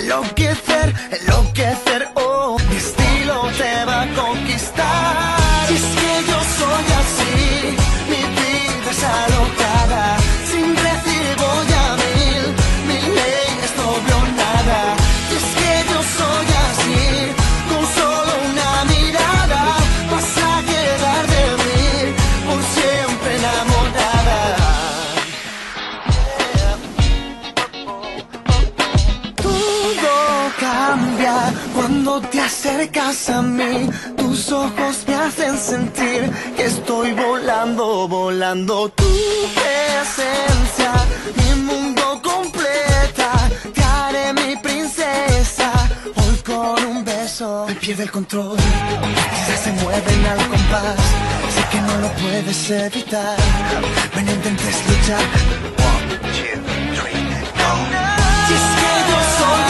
enloquecer, oh, mi estilo te va a conquistar. Y es que yo soy así, mi vida es alocada, sin recibo ya mil leyes, doble o nada. Y es que yo soy así, con solo una mirada vas a quedar de mí por siempre enamorada. Todo cambia cuando te acercas a mí. Tus ojos me hacen sentir que estoy volando, volando. Tu presencia, mi mundo completa. Te haré mi princesa. Hoy con un beso me pierde el control. Quizás se mueven al compás. Sé que no lo puedes evitar. Ven, no intentes luchar. 1, 2, 3, go. Si es que yo soy